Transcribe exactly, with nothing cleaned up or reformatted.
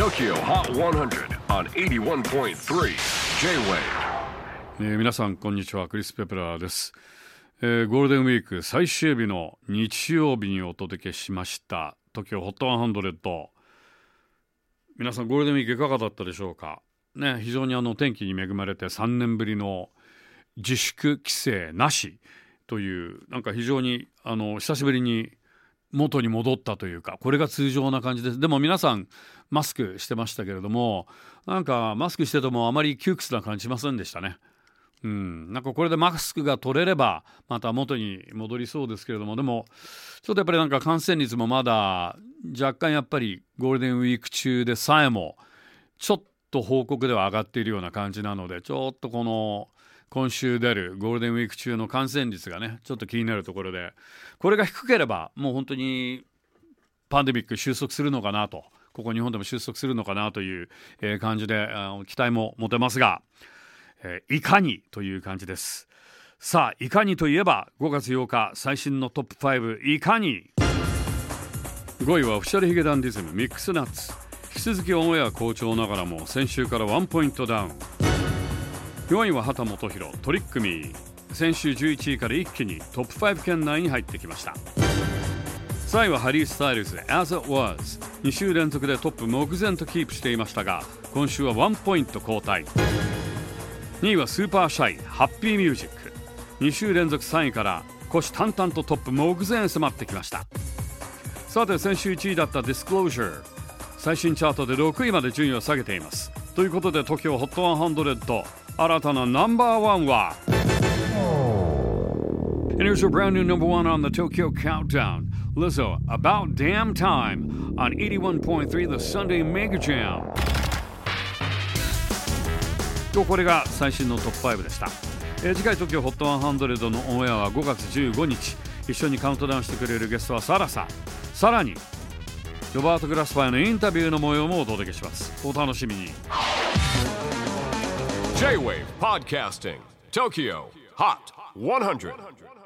Tokyo Hot ひゃく on はちじゅういってんさん J-Wave、 えー、皆さんこんにちは、クリス・ペプラーです、えー、ゴールデンウィーク最終日の日曜日にお届けしました Tokyo Hot ひゃく。皆さんゴールデンウィークいかがだったでしょうかね。非常にあの天気に恵まれてさんねんぶりの自粛規制なしという、なんか非常にあの久しぶりに元に戻ったというか、これが通常な感じです。でも皆さんマスクしてましたけれども、なんかマスクしててもあまり窮屈な感じしませんでしたね。うん、なんかこれでマスクが取れればまた元に戻りそうですけれども、でもちょっとやっぱりなんか感染率もまだ若干やっぱりゴールデンウィーク中でさえもちょっと報告では上がっているような感じなので、ちょっとこの今週出るゴールデンウィーク中の感染率がね、ちょっと気になるところで、これが低ければもう本当にパンデミック収束するのかなと、ここ日本でも収束するのかなという感じで期待も持てますが、えー、いかにという感じです。さあいかにといえばごがつようか最新のトップごいかに。ごいはオフィシャルヒゲダンディズムミックスナッツ。引き続きオンエア好調ながらも先週からワンポイントダウン。よんいは畑基博トリックミー。先週じゅういちいから一気にトップご圏内に入ってきました。さんいはハリー・スタイルズ As It Was。 に週連続でトップ目前とキープしていましたが、今週はワンポイント後退。にいはスーパーシャイハッピーミュージック。に週連続さんいから虎視眈々とトップ目前へ迫ってきました。さて先週いちいだった Disclosure、 最新チャートでろくいまで順位を下げています。ということで Tokyo Hot ひゃく新たなナンバーワンは And here's your brand new number one on the Tokyo Countdown, Lizzo, About Damn Time on はちじゅういってんさん The Sunday Mega Jam。とこれが最新のトップごでした。えー、次回 Tokyo Hot ひゃくのオンエアはごがつじゅうごにち。一緒にカウントダウンしてくれるゲストはサラさん。さらにロバート・グラスパーのインタビューの模様もお届けします。お楽しみに。 J-Wave Podcasting Tokyo Hot ひゃく